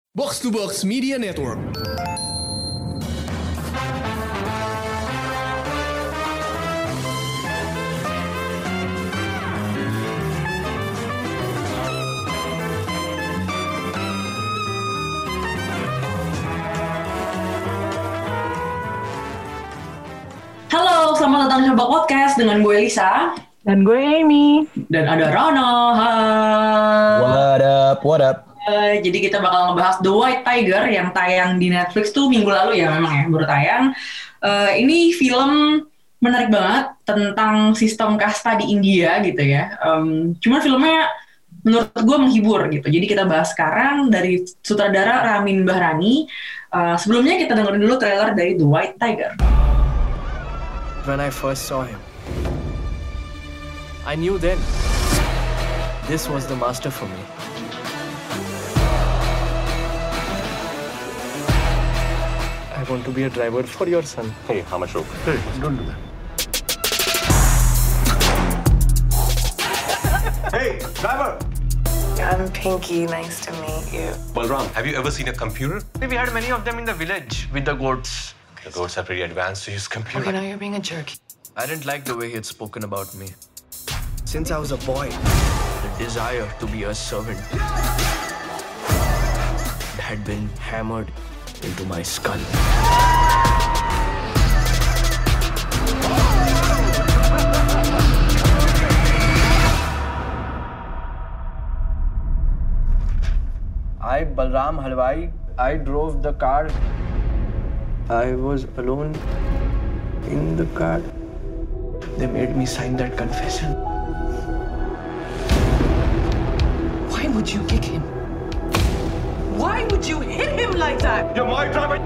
Box to Box Media Network. Halo, selamat datang di Coba Podcast dengan gue Lisa dan gue Amy dan ada Rono. What up? Jadi kita bakal ngebahas The White Tiger yang tayang di Netflix tuh minggu lalu ya, memang ya baru tayang. Ini film menarik banget tentang sistem kasta di India gitu ya. Cuman filmnya menurut gue menghibur gitu. Jadi kita bahas sekarang dari sutradara Ramin Bahrani. Sebelumnya kita dengerin dulu trailer dari The White Tiger. When I first saw him, I knew then this was the master for me. I want to be a driver for your son. Hey, how much rope? Hey, don't do that. Hey, driver! I'm Pinky. Nice to meet you. Balram, have you ever seen a computer? We had many of them in the village with the goats. The goats are pretty advanced to use computer. Okay, now you're being a jerk. I didn't like the way he had spoken about me. Since I was a boy, the desire to be a servant had been hammered into my skull. I, Balram Halwai, I drove the car. I was alone in the car. They made me sign that confession. Why would you kick him? Why would you hit him like that? You're my driver!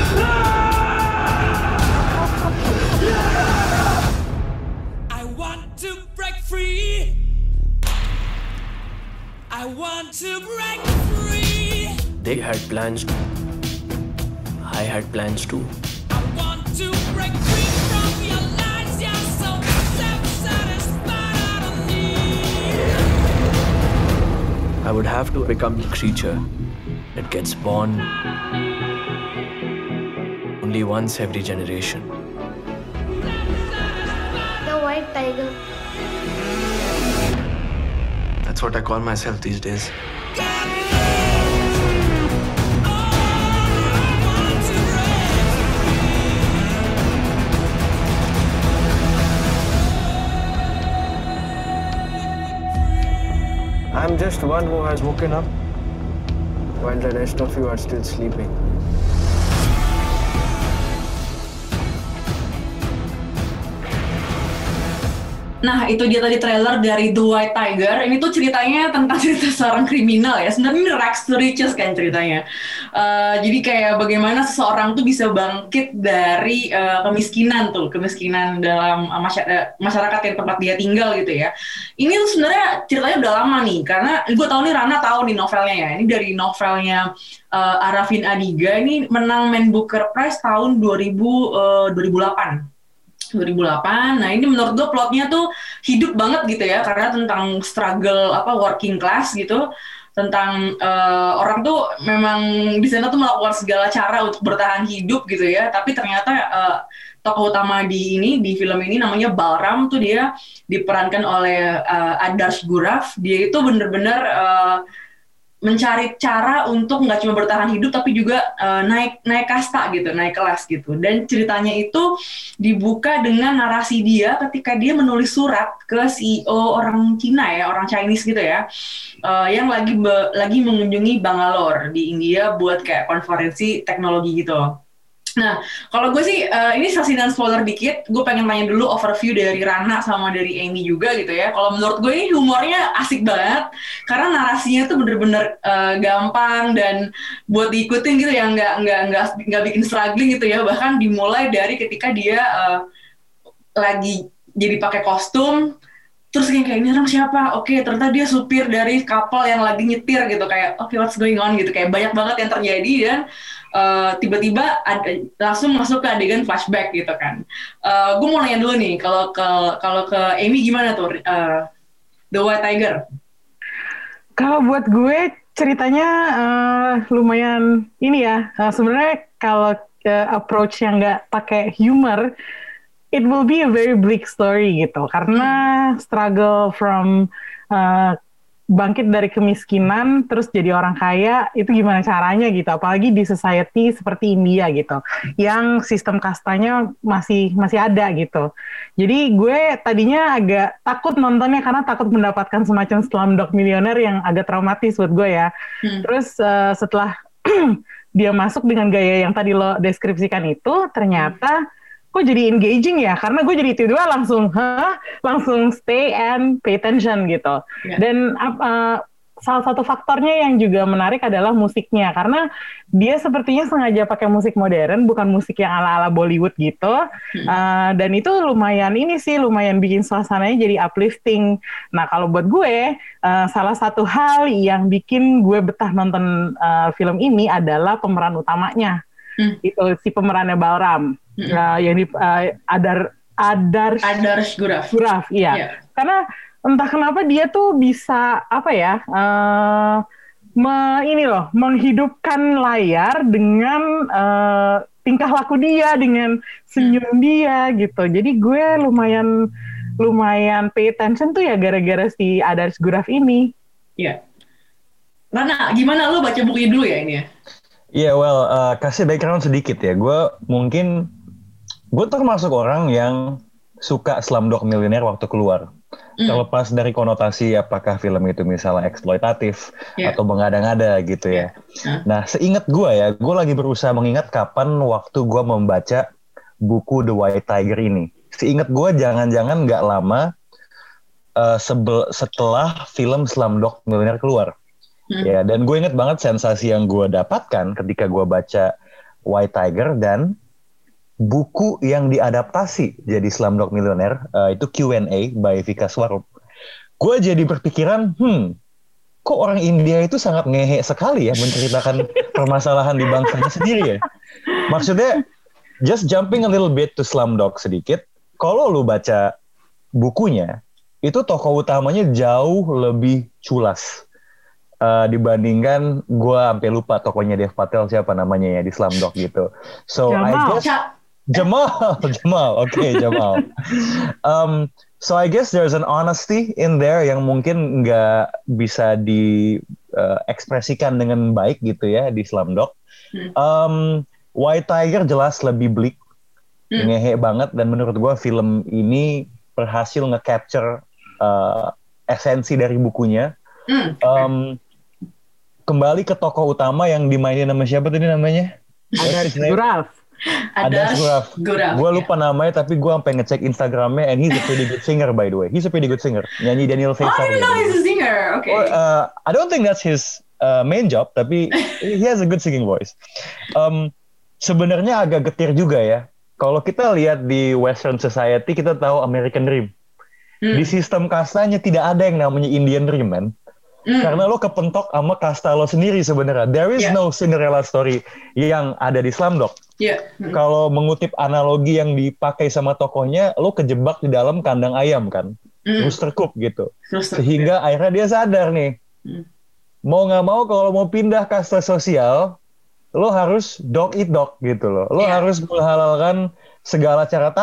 I want to break free. I want to break free. They had plans. I had plans too. I want to break free from your lies. You're so self-satisfied. I don't need. I would have to become the creature that gets born only once every generation. The White Tiger. That's what I call myself these days. I'm just one who has woken up while the rest of you are still sleeping. Nah, itu dia tadi trailer dari The White Tiger. Ini tuh ceritanya tentang cerita seorang kriminal ya. Sebenarnya ini rags to riches kan ceritanya. Jadi kayak bagaimana seseorang tuh bisa bangkit dari kemiskinan dalam masyarakat yang tempat dia tinggal gitu ya. Ini tuh sebenarnya ceritanya udah lama nih, karena gue tahu nih Rana tahu nih novelnya ya. Ini dari novelnya Arafin Adiga. Ini menang Man Booker Prize tahun 2008. Nah ini menurut gue plotnya tuh hidup banget gitu ya, karena tentang struggle working class gitu, tentang orang tuh memang di sana tuh melakukan segala cara untuk bertahan hidup gitu ya, tapi ternyata tokoh utama di film ini namanya Balram tuh dia diperankan oleh Adarsh Guraf. Dia itu bener-bener mencari cara untuk nggak cuma bertahan hidup tapi juga naik kasta gitu, naik kelas gitu. Dan ceritanya itu dibuka dengan narasi dia ketika dia menulis surat ke CEO orang Cina ya, orang Chinese gitu ya, yang lagi mengunjungi Bangalore di India buat kayak konferensi teknologi gitu. Nah, kalau gue sih, ini saksi dan spoiler dikit, gue pengen tanya dulu overview dari Rana sama dari Amy juga gitu ya. Kalau menurut gue ini humornya asik banget, karena narasinya tuh bener-bener gampang dan buat diikutin gitu ya, nggak bikin struggling gitu ya. Bahkan dimulai dari ketika dia lagi jadi pakai kostum, terus kayak ini orang siapa? Oke, ternyata dia supir dari kapal yang lagi nyetir gitu, kayak oke, what's going on gitu, kayak banyak banget yang terjadi dan tiba-tiba langsung masuk ke adegan flashback gitu kan. Gue mau nanya dulu nih, kalau ke Amy gimana tuh The White Tiger? Kalau buat gue ceritanya lumayan ini ya. Sebenarnya kalau approach yang nggak pakai humor, it will be a very bleak story gitu. Karena struggle from bangkit dari kemiskinan terus jadi orang kaya itu gimana caranya gitu, apalagi di society seperti India gitu yang sistem kastanya masih ada gitu. Jadi gue tadinya agak takut nontonnya karena takut mendapatkan semacam Slumdog Millionaire yang agak traumatis buat gue ya. Terus setelah dia masuk dengan gaya yang tadi lo deskripsikan itu, ternyata kok jadi engaging ya, karena gue jadi tiba-tiba langsung stay and pay attention gitu. Dan salah satu faktornya yang juga menarik adalah musiknya, karena dia sepertinya sengaja pakai musik modern, bukan musik yang ala-ala Bollywood gitu. Dan itu lumayan bikin suasananya jadi uplifting. Nah kalau buat gue, salah satu hal yang bikin gue betah nonton film ini adalah pemeran utamanya. Itu si pemerannya Balram. Yang di Adarsh Guraf, iya. Karena entah kenapa dia tuh bisa menghidupkan layar dengan tingkah laku dia, dengan senyum dia gitu. Jadi gue lumayan pay attention tuh ya gara-gara si Adarsh Guraf ini. Iya. Rana, gimana lo baca bukunya dulu ya ini ya? Iya, kasih background sedikit ya. Gue termasuk orang yang suka Slumdog Millionaire waktu keluar. Terlepas dari konotasi apakah film itu misalnya eksploitatif atau mengada-ngada gitu ya. Nah, seingat gue lagi berusaha mengingat kapan waktu gue membaca buku The White Tiger ini. Seingat gue jangan-jangan nggak lama setelah film Slumdog Millionaire keluar. Ya, dan gue inget banget sensasi yang gue dapatkan ketika gue baca White Tiger dan buku yang diadaptasi jadi Slumdog Millionaire, itu Q&A by Vika Swarup. Gue jadi berpikiran, kok orang India itu sangat ngehe sekali ya menceritakan permasalahan di bangsanya sendiri ya. Maksudnya, just jumping a little bit to Slumdog sedikit, kalau lu baca bukunya, itu tokoh utamanya jauh lebih culas. Dibandingkan gue sampai lupa tokonya Dev Patel siapa namanya ya di Slumdog gitu. So Jamal. Jamal. So I guess there's an honesty in there yang mungkin nggak bisa diekspresikan dengan baik gitu ya di Slumdog. White Tiger jelas lebih bleak, ngehe banget, dan menurut gue film ini berhasil nge-capture esensi dari bukunya. Kembali ke tokoh utama yang dimainin sama siapa tadi namanya? Adarsh Guraf. Gue lupa namanya, tapi gue sampai ngecek Instagramnya, and he's a pretty good singer by the way. He's a pretty good singer. Nyanyi Daniel Faisal. I didn't know he's a singer. Okay. I don't think that's his main job, tapi he has a good singing voice. Sebenarnya agak getir juga ya. Kalau kita lihat di Western Society, kita tahu American Dream. Di sistem kastanya tidak ada yang namanya Indian Dream, man. Karena lo kepentok sama kasta lo sendiri sebenarnya. There is no Cinderella story yang ada di Slumdog. Kalau mengutip analogi yang dipakai sama tokohnya, lo kejebak di dalam kandang ayam kan, rooster coop gitu. Sehingga akhirnya dia sadar nih, mau nggak mau kalau mau pindah kasta sosial, lo harus dog eat dog gitu loh. Lo harus menghalalkan segala cara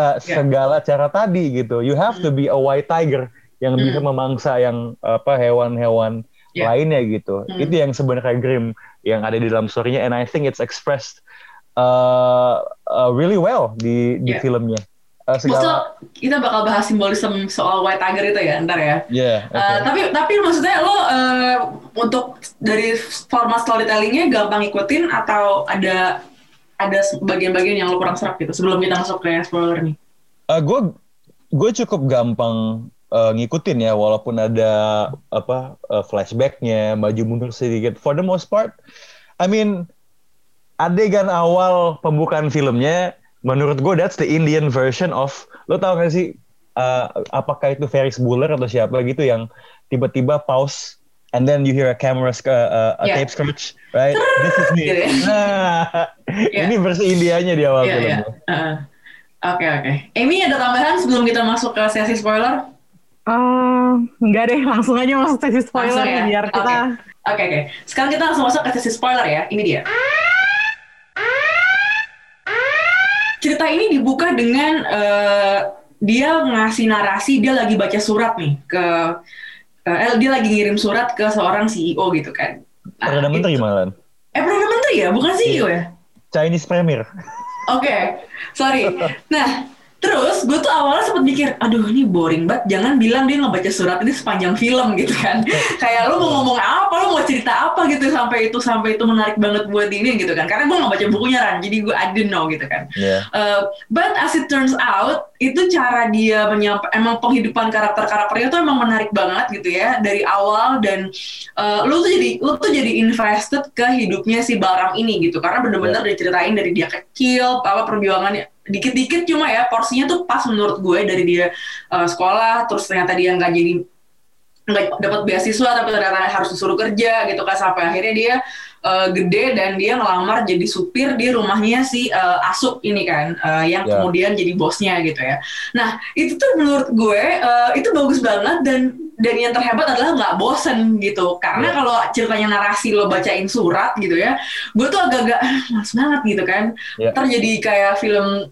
tadi gitu. You have to be a white tiger yang bisa memangsa yang hewan-hewan lainnya gitu. Itu yang sebenarnya grim yang ada di dalam story-nya, and I think it's expressed really well di filmnya. Maksudnya kita bakal bahas simbolisme soal White Tiger itu ya ntar ya. Okay. Tapi maksudnya lo untuk dari format storytellingnya gampang ngikutin atau ada bagian-bagian yang lo kurang serap gitu sebelum kita masuk ke spoiler nih? Gue cukup gampang ngikutin ya, walaupun ada flashbacknya, maju mundur sedikit. For the most part, I mean, adegan awal pembukaan filmnya, menurut gue that's the Indian version of, lo tau gak sih, apakah itu Ferris Bueller atau siapa gitu yang tiba-tiba pause, and then you hear a camera, tape scratch, right? This is me. Nah, ini versi Indianya di awal filmnya. Oke. Amy, ada tambahan sebelum kita masuk ke sesi spoiler? Enggak deh, langsung aja masuk sesi spoiler biar kita Oke. Sekarang kita langsung masuk ke sesi spoiler ya. Ini dia. Cerita ini dibuka dengan dia ngasih narasi, dia lagi baca surat nih dia lagi ngirim surat ke seorang CEO gitu kan. Perdana Menteri malah. Perdana Menteri ya, bukan CEO ya? Chinese Premier. Oke, sorry. Nah, terus gue tuh awalnya sempat mikir, aduh ini boring banget, jangan bilang dia ngebaca surat ini sepanjang film gitu kan. Kayak lu mau ngomong apa, lu mau cerita apa gitu sampai itu menarik banget buat ini gitu kan. Karena gue gak baca bukunya Ran, jadi gue I didn't know gitu kan. Yeah. But as it turns out, itu cara dia emang penghidupan karakternya tuh emang menarik banget gitu ya dari awal, dan lu tuh jadi invested ke hidupnya si Balram ini gitu, karena bener-bener diceritain dari dia kecil, perjuangannya dikit-dikit, cuma ya porsinya tuh pas menurut gue, dari dia sekolah, terus ternyata dia nggak dapat beasiswa tapi ternyata harus disuruh kerja gitu kan, sampai akhirnya dia gede dan dia ngelamar jadi supir di rumahnya si Asup ini kan, yang kemudian jadi bosnya gitu ya. Nah itu tuh menurut gue itu bagus banget, dan yang terhebat adalah nggak bosen gitu, karena kalau ceritanya narasi lo bacain surat gitu ya, gue tuh agak-agak males banget gitu kan. Ntar jadi kayak film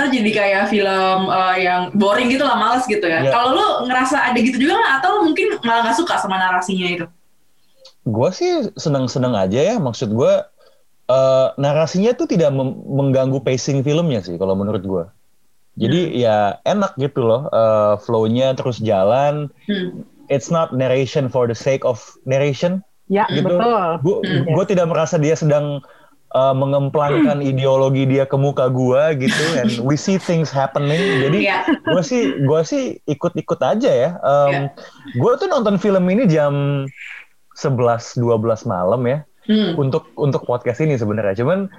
yang boring gitu lah, males gitu ya. Kalau lo ngerasa ada gitu juga nggak, atau mungkin malah nggak suka sama narasinya itu? Gue sih seneng-seneng aja ya, maksud gue narasinya tuh tidak mengganggu pacing filmnya sih kalau menurut gue. Jadi ya enak gitu loh, flow-nya terus jalan. It's not narration for the sake of narration. Ya, gitu. Betul. Gue tidak merasa dia sedang mengemplangkan ideologi dia ke muka gue gitu, and we see things happening. Jadi gue sih ikut-ikut aja ya. Gue tuh nonton film ini jam 11-12 malam ya. Untuk podcast ini sebenarnya, cuman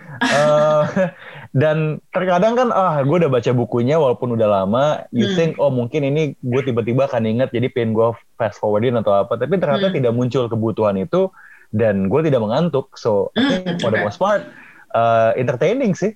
dan terkadang kan gue udah baca bukunya walaupun udah lama, you think mungkin ini gue tiba-tiba akan inget jadi pengen gue fast forwardin atau apa, tapi ternyata tidak muncul kebutuhan itu dan gue tidak mengantuk, so I think for the most part entertaining sih.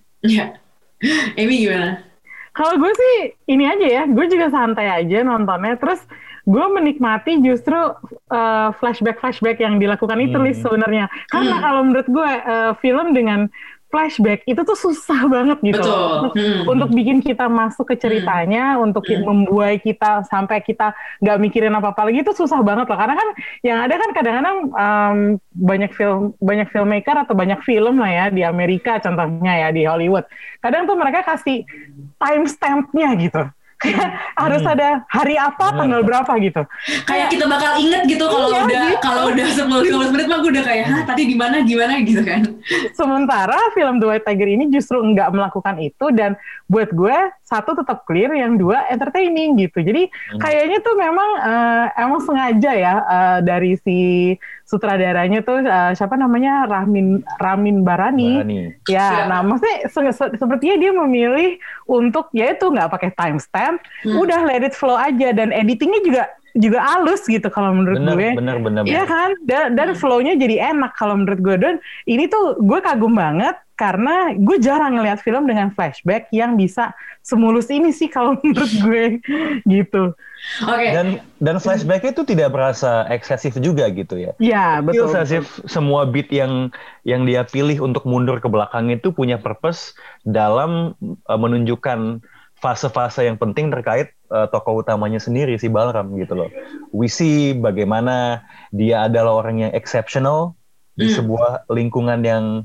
Amy gimana? Kalau gue sih ini aja ya, gue juga santai aja nontonnya, terus gue menikmati justru flashback yang dilakukan itu sebenarnya. Karena kalau menurut gue film dengan flashback itu tuh susah banget gitu. Untuk bikin kita masuk ke ceritanya, untuk membuai kita sampai kita nggak mikirin apa-apa lagi, itu susah banget loh. Karena kan yang ada kan kadang-kadang banyak filmmaker atau banyak film lah ya di Amerika contohnya ya, di Hollywood. Kadang tuh mereka kasih timestamp-nya gitu. Harus ada hari apa, tanggal berapa gitu. Kayak kita bakal inget gitu kalau udah 10-15 menit mah gue udah kayak tadi di mana gimana gitu kan. Sementara film The White Tiger ini justru nggak melakukan itu, dan buat gue satu tetap clear, yang dua entertaining gitu. Jadi kayaknya tuh emang sengaja ya dari si sutradaranya tuh siapa namanya, Ramin Barani. Ya, nah maksudnya sepertinya dia memilih untuk yaitu nggak pakai timestamp, udah let it flow aja, dan editingnya juga halus gitu kalau menurut gue. Bener. Iya kan? Dan flow-nya jadi enak kalau menurut gue. Dan ini tuh gue kagum banget karena gue jarang ngelihat film dengan flashback yang bisa semulus ini sih kalau menurut gue gitu. Dan flashback itu tidak berasa eksesif juga gitu ya. Iya, betul. Semua beat yang dia pilih untuk mundur ke belakang itu punya purpose dalam menunjukkan fase-fase yang penting terkait tokoh utamanya sendiri, si Balram gitu loh. We see bagaimana dia adalah orang yang exceptional di sebuah lingkungan yang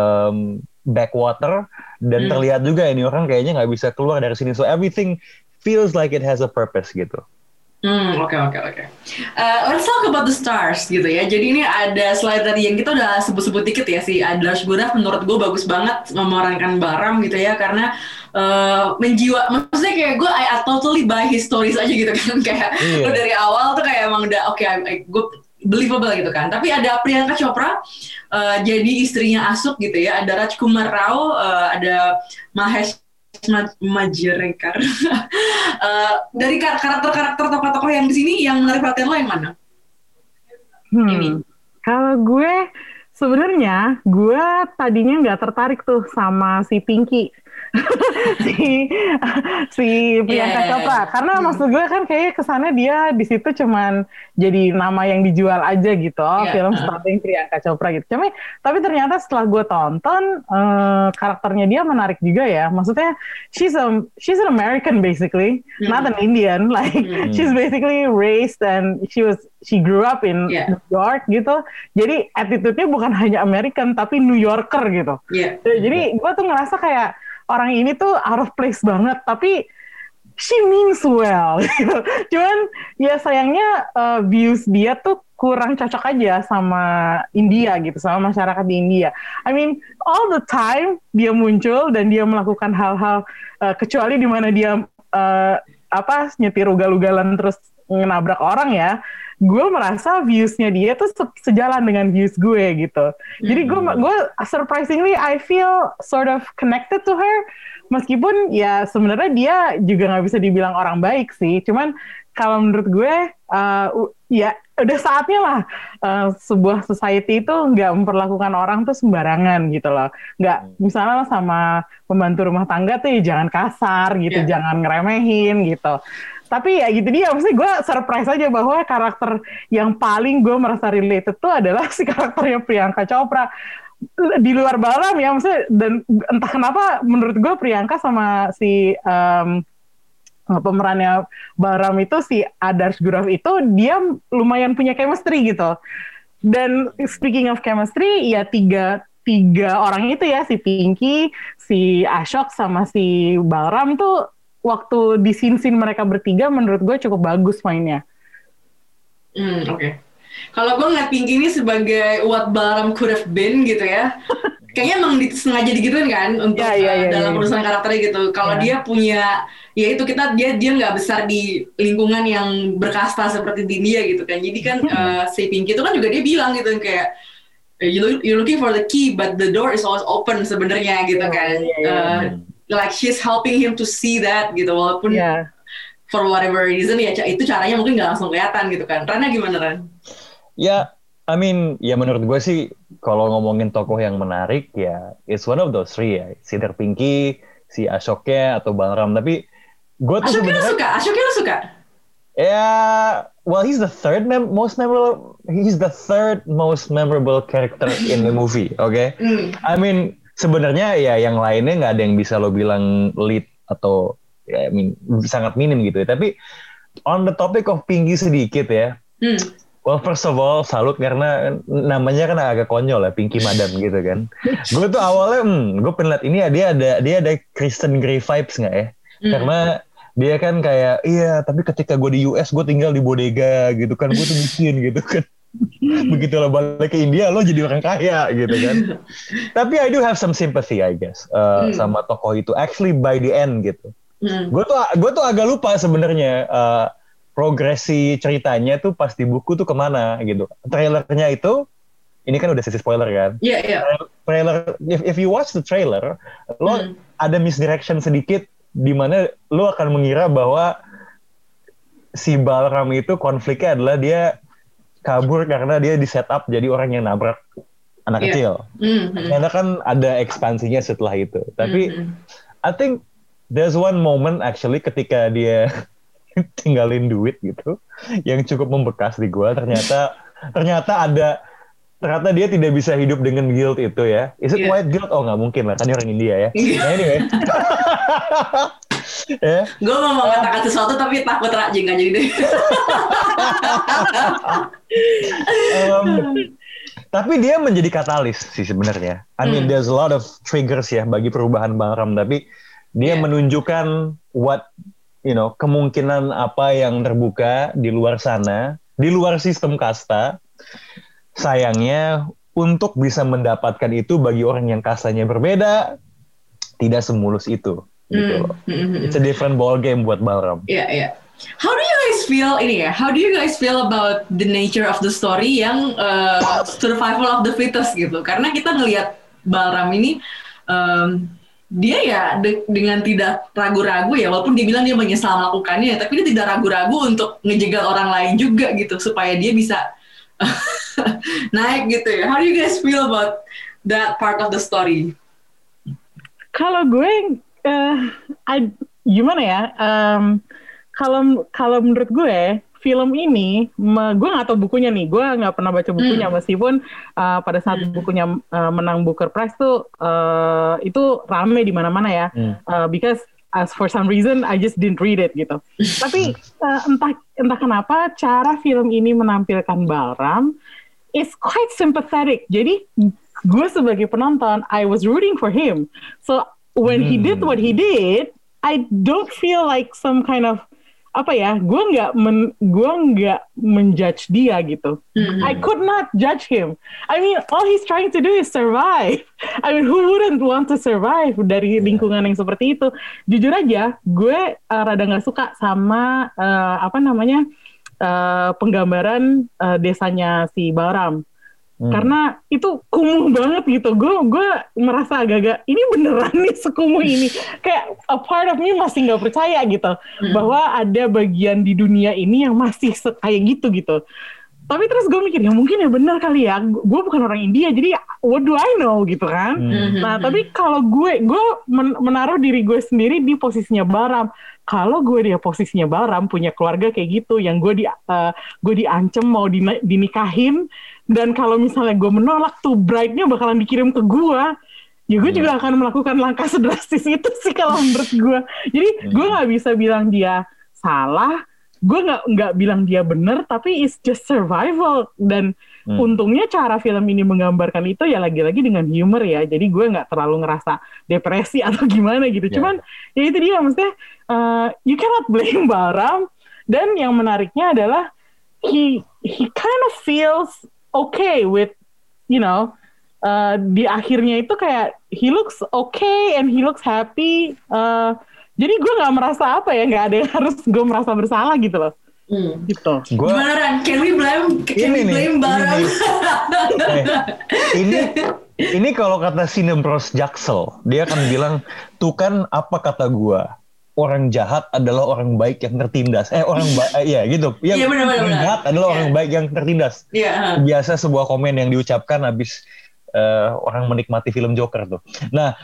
backwater, dan terlihat juga ini orang kayaknya nggak bisa keluar dari sini. So everything feels like it has a purpose gitu. Oke. Let's talk about the stars gitu ya. Jadi ini ada slide tadi yang kita udah sebut-sebut dikit ya, si Adlars Gunaf menurut gue bagus banget memerankan Balram gitu ya, karena maksudnya kayak gue I totally buy his stories aja gitu kan, kayak lo dari awal tuh kayak emang udah gue believable gitu kan. Tapi ada Priyanka Chopra jadi istrinya Asup gitu ya, ada Rajkumar Rao, ada Mahesh Majerekar. Dari karakter-karakter tokoh-tokoh yang di sini yang menarik perhatian lo yang mana? Kalau gue sebenarnya tadinya nggak tertarik tuh sama si Pinky. si si Priyanka Chopra. Karena maksud gue kan kayaknya kesannya dia di situ cuman jadi nama yang dijual aja gitu. Film starring Priyanka Chopra gitu. Tapi ternyata setelah gue tonton karakternya dia menarik juga ya. Maksudnya she's an American basically, not an Indian. Like she's basically raised and she grew up in New York gitu. Jadi attitude-nya bukan hanya American tapi New Yorker gitu. Jadi gue tuh ngerasa kayak orang ini tuh out of place banget, tapi she means well gitu. Cuman ya sayangnya views dia tuh kurang cocok aja sama India gitu, sama masyarakat di India. I mean, all the time dia muncul dan dia melakukan hal-hal kecuali di mana dia nyetir ugal-ugalan terus nabrak orang ya. Gue merasa viewsnya dia tuh sejalan dengan views gue gitu. Jadi gue surprisingly I feel sort of connected to her. Meskipun ya sebenarnya dia juga nggak bisa dibilang orang baik sih. Cuman kalau menurut gue ya udah saatnya lah sebuah society itu nggak memperlakukan orang tuh sembarangan gitu loh. Nggak misalnya sama pembantu rumah tangga tuh ya jangan kasar gitu, jangan ngeremehin gitu. Tapi ya gitu dia, maksudnya gue surprise aja bahwa karakter yang paling gue merasa related tuh adalah si karakternya Priyanka Chopra. Di luar Balaram ya, maksudnya, dan entah kenapa menurut gue Priyanka sama si pemerannya Balaram itu, si Adarsh Gurav itu, dia lumayan punya chemistry gitu. Dan speaking of chemistry, ya tiga orang itu ya, si Pinky, si Ashok, sama si Balaram tuh, waktu di scene-scene mereka bertiga menurut gue cukup bagus mainnya. Oke. Kalau gue ngeliat Pinky ini sebagai what Balaram could have been gitu ya. Kayaknya emang sengaja digituin kan untuk dalam perusahaan karakternya gitu. Kalau dia punya, ya itu dia nggak besar di lingkungan yang berkasta seperti di India gitu kan. Jadi kan si Pinky itu kan juga dia bilang gitu kayak you're looking for the key but the door is always open sebenarnya gitu kan. Like she's helping him to see that gitu, walaupun for whatever reason ya itu caranya mungkin nggak langsung kelihatan gitu kan. Rana gimana Ran? Ya, I mean ya menurut gue sih kalau ngomongin tokoh yang menarik ya it's one of those three ya, si Pinky, si Ashoknya atau Balaram. Tapi gue tuh Ashoknya lu suka? Ya, well he's the third most memorable character in the movie, okay? I mean sebenarnya ya yang lainnya nggak ada yang bisa lo bilang lead atau ya, I mean, sangat minim gitu ya. Tapi on the topic of Pinky sedikit ya. Well first of all salut karena namanya kan agak konyol ya, Pinky Madam gitu kan. Gue tuh awalnya gue pengen lihat ini ya dia ada Kristen Grey vibes nggak ya? Karena dia kan kayak iya tapi ketika gue di US gue tinggal di bodega gitu kan, gue tuh miskin gitu kan. Begitu lo balik ke India lo jadi orang kaya gitu kan. Tapi I do have some sympathy I guess sama tokoh itu actually by the end gitu. Gue tuh agak lupa sebenarnya progresi ceritanya tuh pas di buku tuh kemana gitu. Trailernya itu ini kan udah sesi spoiler kan. Trailer if you watch the trailer lo ada misdirection sedikit di mana lo akan mengira bahwa si Balaram itu konfliknya adalah dia kabur karena dia di set up jadi orang yang nabrak anak kecil. Karena kan ada ekspansinya setelah itu. Tapi I think there's one moment actually ketika dia tinggalin duit gitu yang cukup membekas di gua. Ternyata dia tidak bisa hidup dengan guilt itu ya. Is it white guilt? Oh nggak mungkin lah, kan dia orang India ya. Nah anyway. Gue mau mengatakan sesuatu tapi takut rajin kan jadi deh. Tapi dia menjadi katalis sih sebenarnya. I mean there's a lot of triggers ya bagi perubahan Balaram, tapi dia menunjukkan kemungkinan apa yang terbuka di luar sana, di luar sistem kasta. Sayangnya untuk bisa mendapatkan itu bagi orang yang kastanya berbeda tidak semulus itu. Gitu loh. It's a different ball game buat Balaram. Iya. How do you guys feel about the nature of the story yang survival of the fittest gitu? Karena kita ngelihat Balaram ini dia ya dengan tidak ragu-ragu ya, walaupun dia bilang dia menyesal melakukannya, tapi dia tidak ragu-ragu untuk ngejegal orang lain juga gitu supaya dia bisa naik gitu ya. How do you guys feel about that part of the story? Kalau gue Gimana ya? Kalau menurut gue film ini, gue nggak tahu bukunya nih, gue nggak pernah baca bukunya meskipun pada saat bukunya menang Booker Prize tuh itu rame di mana-mana ya, because as for some reason I just didn't read it gitu. Tapi entah kenapa cara film ini menampilkan Balram is quite sympathetic. Jadi gue sebagai penonton, I was rooting for him. So when he did what he did, I don't feel like some kind of gue nggak menjudge dia gitu. I could not judge him. I mean, all he's trying to do is survive. I mean, who wouldn't want to survive dari lingkungan yang seperti itu? Jujur aja, gue rada nggak suka sama penggambaran desanya si Balram. Karena itu kumuh banget gitu. Gue merasa agak-agak ini beneran nih sekumuh ini. Kayak a part of me masih nggak percaya gitu bahwa ada bagian di dunia ini yang masih kayak gitu. Tapi terus gue mikir ya mungkin ya benar kali ya. Gue bukan orang India jadi what do I know gitu kan. Nah tapi kalau gue menaruh diri gue sendiri di posisinya Balram. Kalau gue di posisinya Balram punya keluarga kayak gitu yang gue diancem mau dinikahin. Dan kalau misalnya gue menolak tuh bride-nya bakalan dikirim ke gue, ya gue juga akan melakukan langkah sedrastis itu sih kalau menurut gue. Jadi gue nggak bisa bilang dia salah, gue nggak bilang dia benar, tapi it's just survival. Dan untungnya cara film ini menggambarkan itu ya lagi-lagi dengan humor ya. Jadi gue nggak terlalu ngerasa depresi atau gimana gitu. Cuman ya itu dia maksudnya you cannot blame Balram. Dan yang menariknya adalah he kind of feels okay with, di akhirnya itu kayak he looks okay and he looks happy. Jadi gue nggak merasa nggak ada yang harus gue merasa bersalah gitu loh. Gitu. Gimana Ran? Can we blame Balram? Ini kalau kata Sinebros Jaksel, dia akan bilang, tuh kan apa kata gue? Orang jahat adalah orang baik yang tertindas. Gitu. Iya, benar. Orang jahat adalah orang baik yang tertindas. Biasa sebuah komen yang diucapkan habis orang menikmati film Joker tuh. Nah,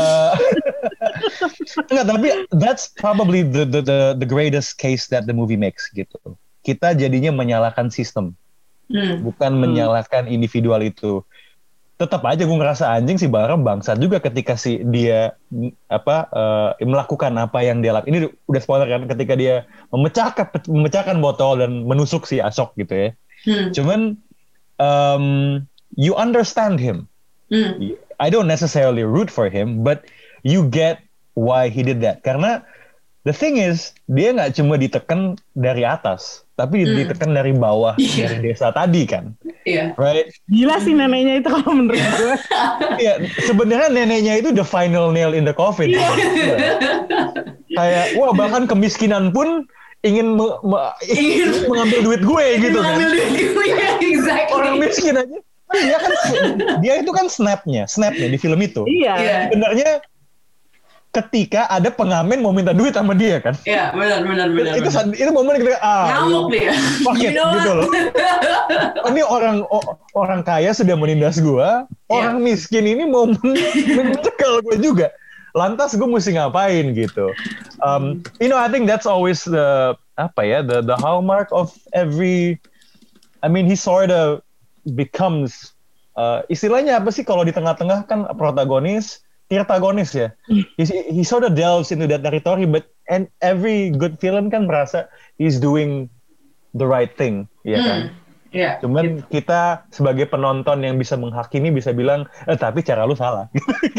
enggak, tapi that's probably the greatest case that the movie makes gitu. Kita jadinya menyalahkan sistem, bukan menyalahkan individual itu. Tetap aja gue ngerasa anjing si Balram bangsat juga ketika dia melakukan apa yang dia lakukan. Ini udah spoiler kan, ketika dia memecahkan botol dan menusuk si Ashok gitu ya. Cuman you understand him. I don't necessarily root for him, but you get why he did that. Karena the thing is, dia nggak cuma ditekan dari atas, tapi ditekan dari bawah, dari desa tadi kan. Right? Gila sih neneknya itu kalau menurut gue. Sebenarnya neneknya itu the final nail in the coffin. Kayak, bahkan kemiskinan pun ingin mengambil duit gue gitu kan. Exactly. Orang miskin aja. Dia itu kan snapnya di film itu. Sebenarnya ketika ada pengamen mau minta duit sama dia kan. Iya, benar. Itu momen kita ngamuk dia. Paket gitu loh. Ini orang kaya sudah menindas gua, orang miskin ini mau mencekal gue juga. Lantas gue mesti ngapain gitu. I think that's always the hallmark of every. I mean, he sort of becomes istilahnya apa sih kalau di tengah-tengah kan protagonis, tirtagonis ya. He sort of delves into that territory, and every good villain kan merasa he's doing the right thing, ya kan? Cuman kita sebagai penonton yang bisa menghakimi bisa bilang, tapi cara lu salah.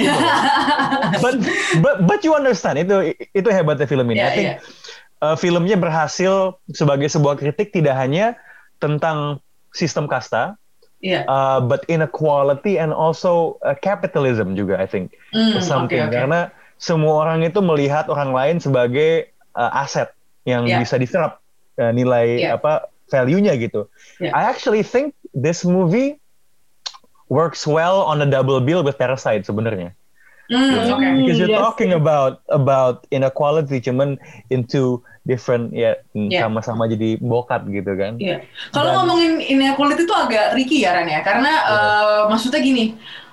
but you understand, itu hebatnya film ini. I think filmnya berhasil sebagai sebuah kritik tidak hanya tentang sistem kasta, but inequality and also capitalism juga, I think. Karena semua orang itu melihat orang lain sebagai aset yang bisa diserap nilai value-nya gitu. I actually think this movie works well on a double bill with Parasite sebenarnya. Because you're talking about inequality, cuman into different sama-sama jadi bokap gitu kan. Kalau ngomongin inequality itu agak tricky ya Ren ya, karena maksudnya gini,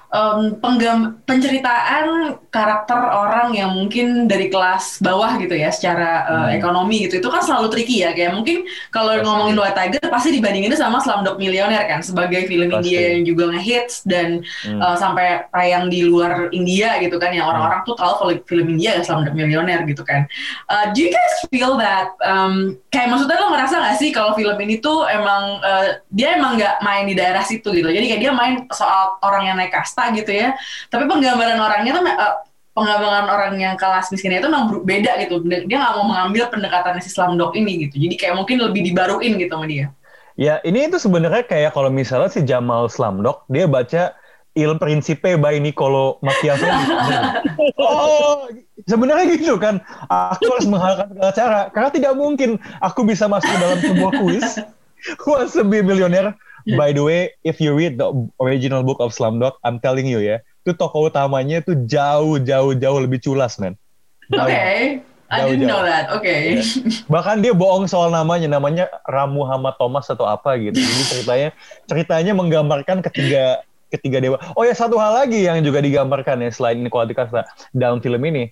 penceritaan karakter orang yang mungkin dari kelas bawah gitu ya secara ekonomi gitu, itu kan selalu tricky ya. Kayak mungkin kalau ngomongin White Tiger pasti dibandingin sama Slumdog Millionaire kan, sebagai film India yang juga ngehits dan sampai tayang di luar India gitu kan, yang orang-orang tuh tahu kalau film India ya Slumdog Millionaire gitu kan. Do you guys feel that kayak maksudnya lo ngerasa nggak sih kalau film ini tuh emang dia emang nggak main di daerah situ gitu, jadi kayak dia main soal orang yang naik kasta gitu ya, tapi penggambaran orangnya tuh penggambaran orang yang kelas miskinnya itu memang beda gitu. Dia nggak mau mengambil pendekatannya si Slumdog ini gitu, jadi kayak mungkin lebih dibaruin gitu sama dia. Ya ini itu sebenarnya kayak kalau misalnya si Jamal Slumdog dia baca Il Principe by Niccolo Machiavelli. Oh, sebenarnya gitu kan. Aku harus menghalalkan segala cara karena tidak mungkin aku bisa masuk dalam sebuah kuis Who Wants to Be a Millionaire. By the way, if you read the original book of Slumdog, I'm telling you ya, itu tokoh utamanya tuh jauh lebih culas, man. Oke. I didn't know that. Oke. Bahkan dia bohong soal namanya Ram Muhammad Thomas atau apa gitu. Jadi ceritanya menggambarkan ketiga dewa. Oh ya, satu hal lagi yang juga digambarkan ya selain inequality kasta dalam film ini,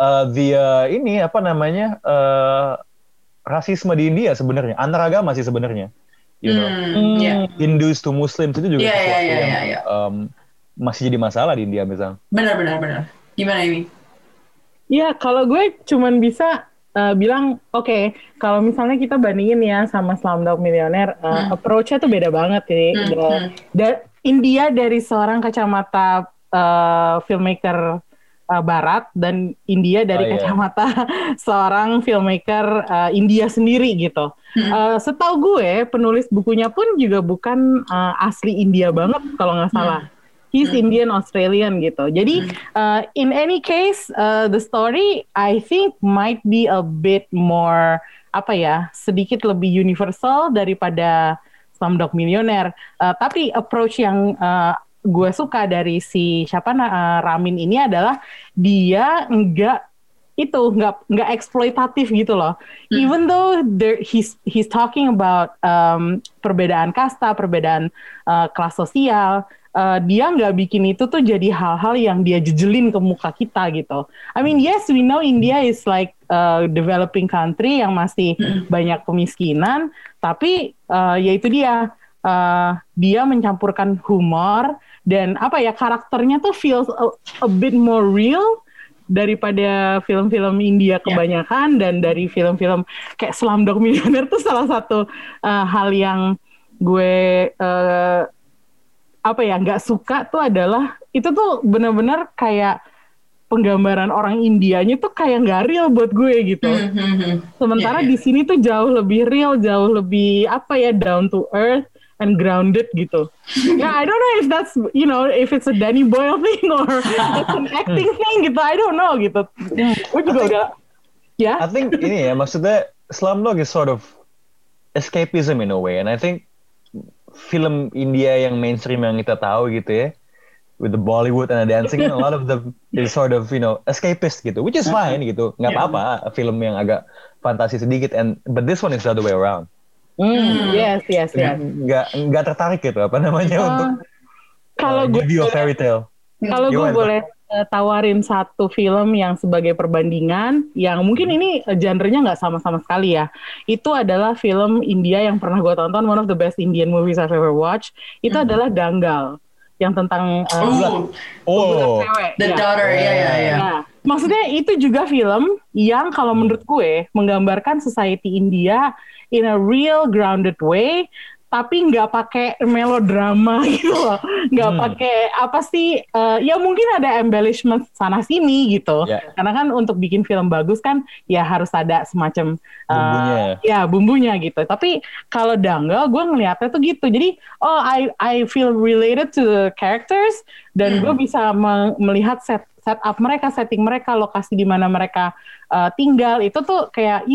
rasisme di India sebenarnya, antaragama sih sebenarnya. You know, Hindus to Muslims itu juga sesuatu yang masih jadi masalah di India misalnya. Benar. Gimana ini? Ya, kalau gue cuman bisa bilang, oke, kalau misalnya kita bandingin ya sama Slumdog Millionaire, approach-nya tuh beda banget. India dari seorang kacamata filmmaker Barat dan India dari kacamata seorang filmmaker India sendiri gitu. Setahu gue penulis bukunya pun juga bukan asli India banget kalau nggak salah. He's Indian Australian gitu. Jadi in any case the story I think might be a bit more sedikit lebih universal daripada Slumdog Millionaire. Tapi approach yang gue suka dari si Ramin ini adalah dia nggak eksploitatif gitu loh. Even though he's talking about perbedaan kasta, perbedaan kelas sosial, dia nggak bikin itu tuh jadi hal-hal yang dia jejelin ke muka kita gitu. I mean, yes, we know India is like a developing country yang masih banyak kemiskinan, tapi ya itu dia mencampurkan humor dan karakternya tuh feels a bit more real daripada film-film India kebanyakan, dan dari film-film kayak Slumdog Millionaire tuh salah satu hal yang gue nggak suka tuh adalah itu tuh benar-benar kayak penggambaran orang Indianya tuh kayak nggak real buat gue gitu. Sementara di sini tuh jauh lebih real, jauh lebih down to earth and grounded gitu. I don't know if that's if it's a Danny Boyle thing or it's an acting thing gitu. I don't know gitu. Gue juga udah I think ini ya, maksudnya Slumdog is sort of escapism in a way, and I think film India yang mainstream yang kita tahu gitu ya, with the Bollywood and the dancing, a lot of them is sort of escapist gitu, which is fine gitu, nggak apa-apa film yang agak fantasi sedikit, but this one is the other way around. Yes. Nggak tertarik gitu untuk kalau gue fairy tale. Kalau gue boleh tawarin satu film yang sebagai perbandingan, yang mungkin ini genre-nya nggak sama-sama sekali ya. Itu adalah film India yang pernah gue tonton, one of the best Indian movies I've ever watched. Itu adalah Dangal, yang tentang cewek. The Daughter, ya. Nah, maksudnya itu juga film yang kalau menurut gue menggambarkan society India in a real grounded way, tapi nggak pakai melodrama gitu loh, nggak pakai ya mungkin ada embellishment sana sini gitu, karena kan untuk bikin film bagus kan ya harus ada semacam bumbunya gitu. Tapi kalau Dangal gue ngeliatnya tuh gitu, jadi I feel related to the characters, dan gue bisa melihat setup mereka, setting mereka, lokasi di mana mereka tinggal, itu tuh kayak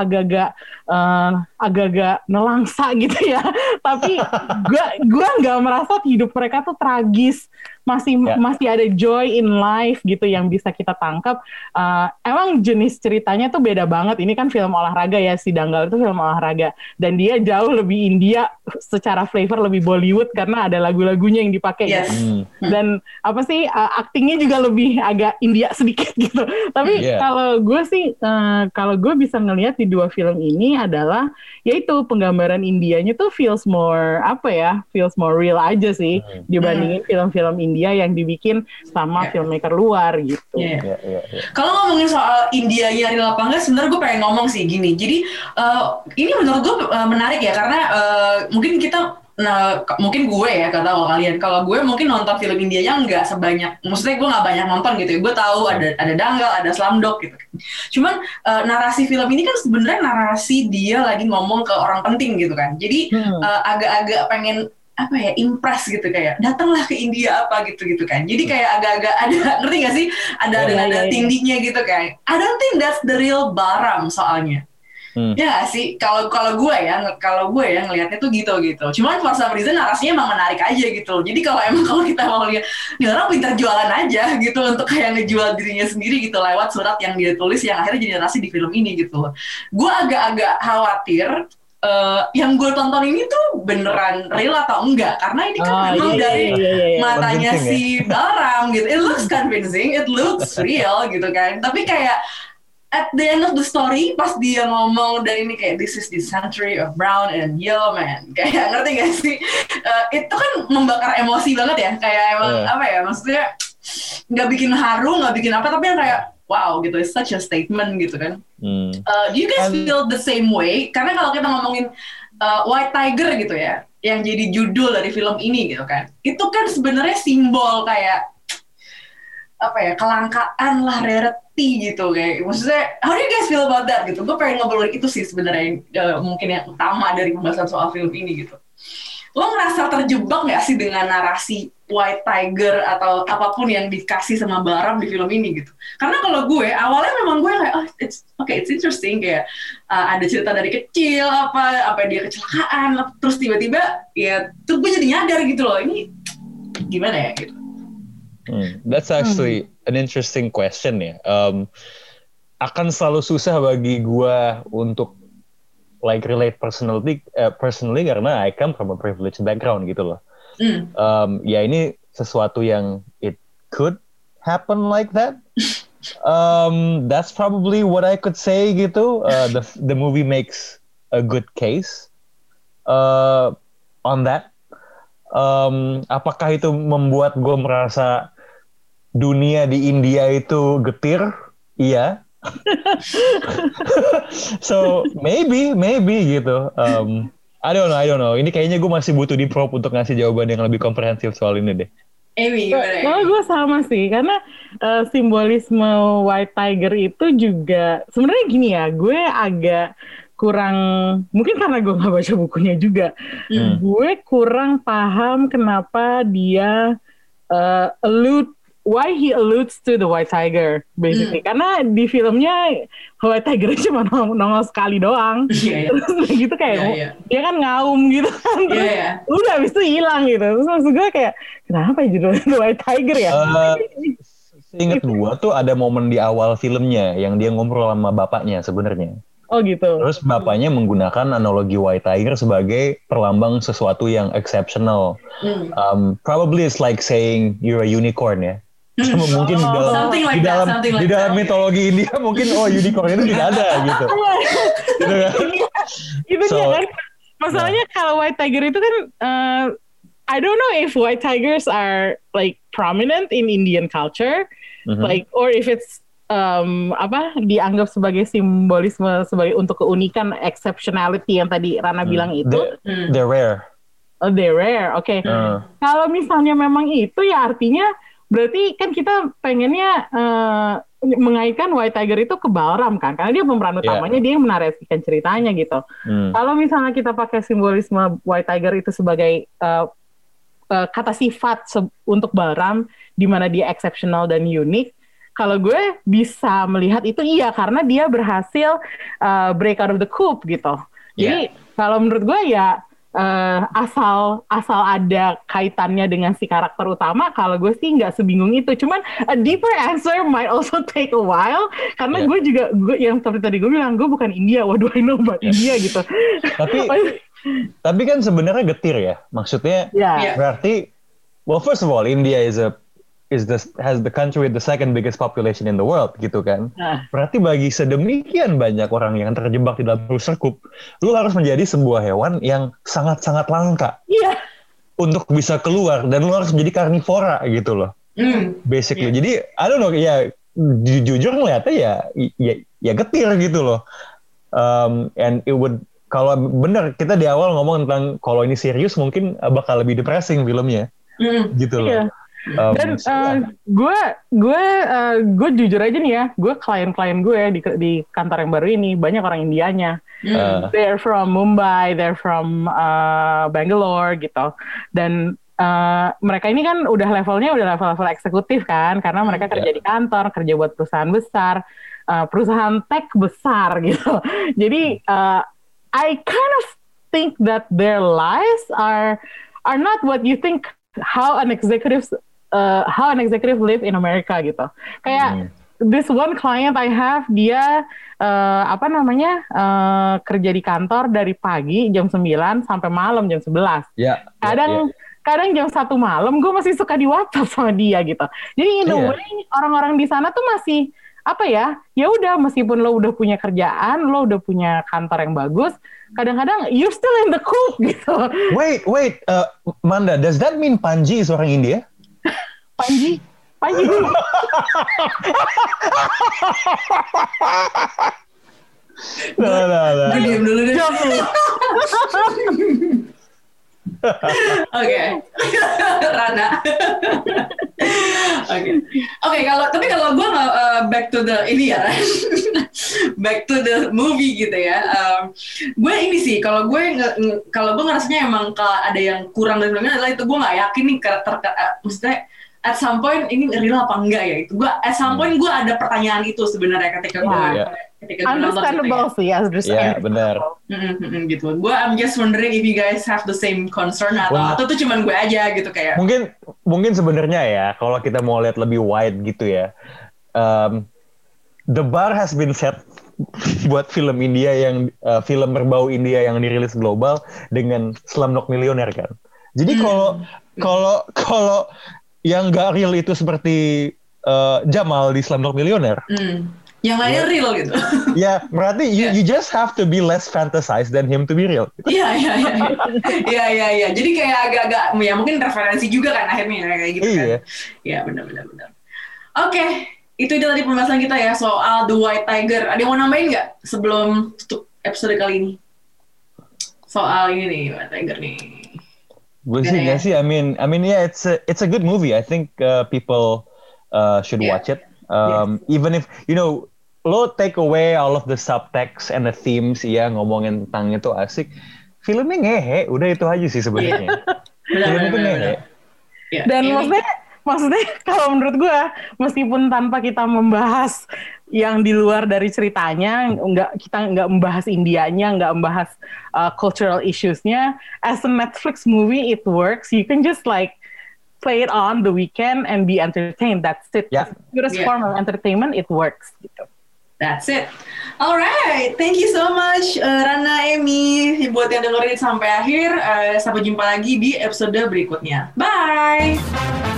agak-agak nelangsa gitu ya. Tapi gue nggak merasa hidup mereka tuh tragis, masih ada joy in life gitu yang bisa kita tangkap. Emang jenis ceritanya tuh beda banget. Ini kan film olahraga ya, si Danggal itu film olahraga, dan dia jauh lebih India secara flavor, lebih Bollywood karena ada lagu-lagunya yang dipakai. Gitu. Dan apa sih, aktingnya juga lebih agak India sedikit gitu. Tapi kalau gue bisa ngelihat di dua film ini adalah yaitu penggambaran Indianya tuh feels more real aja sih dibandingin film-film India yang dibikin sama filmmaker luar gitu. Kalau ngomongin soal Indianya real apa enggak, sebenarnya gue pengen ngomong sih gini. Jadi ini menurut gue menarik ya, karena mungkin gue ya, gak tahu kalian. Kalau gue mungkin nonton film Indianya nggak sebanyak, maksudnya gue nggak banyak nonton gitu ya. Gue tahu ada Danggal, ada Slumdog gitu. Cuman narasi film ini kan sebenarnya narasi dia lagi ngomong ke orang penting gitu kan. Jadi agak-agak pengen impress gitu, kayak datanglah ke India gitu kan. Jadi kayak agak-agak ada, ngerti gak sih? Ada nada tingginya gitu kan. I don't think that's the real Baram soalnya. Ya gak sih? Kalau gue ya ngelihatnya tuh gitu. Cuman for some reason narasinya emang menarik aja gitu. Jadi kalau kita mau lihat, nih orang pintar jualan aja gitu untuk kayak ngejual dirinya sendiri gitu lewat surat yang dia tulis yang akhirnya jadi narasi di film ini gitu. Gue agak-agak khawatir yang gue tonton ini tuh beneran real atau enggak, karena ini kan memang dari matanya si Baram gitu. It looks convincing, it looks real gitu kan. Tapi kayak at the end of the story, pas dia ngomong dan ini kayak this is the century of brown and yellow man, kayak ngerti gak sih? Itu kan membakar emosi banget ya, kayak emang maksudnya nggak bikin haru, nggak bikin apa, tapi kayak wow gitu, it's such a statement gitu kan. Do you guys feel the same way? Karena kalau kita ngomongin White Tiger gitu ya, yang jadi judul dari film ini gitu kan, itu kan sebenarnya simbol kayak kelangkaan lah, rarity gitu kayak. Maksudnya, how do you guys feel about that gitu? Gue pengen ngobrolin itu sih sebenarnya mungkin yang utama dari pembahasan soal film ini gitu. Lo ngerasa terjebak nggak sih dengan narasi White Tiger atau apapun yang dikasih sama Baram di film ini gitu? Karena kalau gue awalnya memang gue kayak it's interesting, kayak ada cerita dari kecil apa dia kecelakaan, terus tiba-tiba ya tuh gue jadi nyadar gitu loh, ini gimana ya gitu. That's actually an interesting question ya. Akan selalu susah bagi gue untuk relate personally karena I come from a privileged background gitu loh. Ya ini sesuatu yang it could happen like that. That's probably what I could say gitu. The movie makes a good case on that. Apakah itu membuat gue merasa dunia di India itu getir? Iya. So maybe gitu. I don't know. Ini kayaknya gue masih butuh di prop untuk ngasih jawaban yang lebih komprehensif soal ini deh. Amy, gimana? Kalau gue sama sih, karena simbolisme White Tiger itu juga sebenarnya gini ya, gue agak kurang, mungkin karena gue nggak baca bukunya juga, gue kurang paham kenapa dia why he alludes to the White Tiger basically. Karena di filmnya White Tiger cuma nongol sekali doang. Terus gitu kayak dia kan ngaum gitu kan. Udah habis itu hilang gitu. Terus maksud gue kayak kenapa judulnya The White Tiger ya? Seingat gue tuh ada momen di awal filmnya yang dia ngobrol sama bapaknya sebenarnya. Oh gitu. Terus bapaknya menggunakan analogi White Tiger sebagai perlambang sesuatu yang exceptional. Probably it's like saying you're a unicorn ya. Mungkin di dalam mitologi India mungkin unicorn itu tidak ada gitu. Itu kan masalahnya kalau White Tiger itu kan I don't know if White Tigers are like prominent in Indian culture, like or if it's dianggap sebagai simbolisme sebagai untuk keunikan, exceptionality yang tadi Rana bilang itu. They're rare. Oh, they're rare. Oke. Kalau misalnya memang itu ya artinya berarti kan kita pengennya mengaitkan White Tiger itu ke Balram kan, karena dia pemeran utamanya, dia yang menarasikan ceritanya gitu. Kalau misalnya kita pakai simbolisme White Tiger itu sebagai kata sifat untuk Balram, di mana dia exceptional dan unik, kalau gue bisa melihat itu karena dia berhasil break out of the coop gitu. Jadi kalau menurut gue ya asal ada kaitannya dengan si karakter utama, kalau gue sih nggak sebingung itu. Cuman a deeper answer might also take a while, karena gue yang seperti tadi gue bilang, gue bukan India, what do I know about India gitu. Tapi kan sebenarnya getir ya, maksudnya berarti, well first of all India has the country with the second biggest population in the world gitu kan. Berarti bagi sedemikian banyak orang yang terjebak di dalam perserkup, lu harus menjadi sebuah hewan yang sangat-sangat langka untuk bisa keluar, dan lu harus menjadi karnivora gitu loh. Basically. Jadi I don't know, ya jujur ngeliatnya ya getir gitu loh. And it would, kalau bener kita di awal ngomong tentang kalau ini serius mungkin bakal lebih depressing filmnya. Gitu loh. Dan gue jujur aja nih ya, gue klien-klien gue di kantor yang baru ini banyak orang Indianya. They're from Mumbai, they're from Bangalore gitu. Dan mereka ini kan udah level eksekutif kan, karena mereka kerja di kantor, kerja buat perusahaan besar, perusahaan tech besar gitu. Jadi I kind of think that their lives are not what you think how an executive live in America gitu. Kayak this one client I have, dia kerja di kantor dari pagi jam 9 sampai malam jam 11. Kadang jam 1 malam gue masih suka di WhatsApp sama dia gitu. Jadi in a way orang-orang di sana tuh masih ya udah, meskipun lo udah punya kerjaan, lo udah punya kantor yang bagus, kadang-kadang you're still in the coop gitu. Wait, Manda, does that mean Panji is orang India? Panji. Nah. Diam dulu deh. Oke, Rana. Oke, kalau gue nggak back to the back to the movie gitu ya. Gue ini sih, kalau gue ngerasanya emang kalau ada yang kurang dari filmnya adalah itu, gue nggak yakin nih karakter, maksudnya at some point ini real apa enggak ya, itu gue at some point gue ada pertanyaan itu sebenarnya ketika gue understandable sih, benar. Gitu. Gue I'm just wondering if you guys have the same concern atau itu cuman gue aja gitu kayak. Mungkin sebenarnya ya, kalau kita mau lihat lebih wide gitu ya, the bar has been set buat film India yang film berbau India yang dirilis global dengan Slumdog Millionaire kan. Jadi kalau yang gak real itu seperti Jamal di Slumdog Millionaire. Yang lainnya real gitu. Ya, berarti you just have to be less fantasized than him to be real. Iya. Jadi kayak agak-agak, ya mungkin referensi juga kan akhirnya kayak gitu kan. Iya, benar. Oke, itu dia tadi pembahasan kita ya soal The White Tiger. Ada yang mau nambahin nggak sebelum tutup episode kali ini? Soal ini nih, White Tiger nih. Gue sih nggak sih. I mean, yeah, it's a good movie. I think people should watch it. Even if lo take away all of the subtext and the themes, ngomongin tentang itu asik. Filmnya ngehe, udah itu aja sih sebenarnya. Filmnya itu ngehe. Dan maksudnya kalau menurut gue, meskipun tanpa kita membahas yang di luar dari ceritanya, kita nggak membahas Indianya, nggak membahas cultural issues-nya, as a Netflix movie it works. You can just play it on the weekend and be entertained. That's it. As the purest form of entertainment, it works gitu. That's it. Alright, thank you so much Rana, Emi, buat yang dengerin sampai akhir. Sampai jumpa lagi di episode berikutnya. Bye.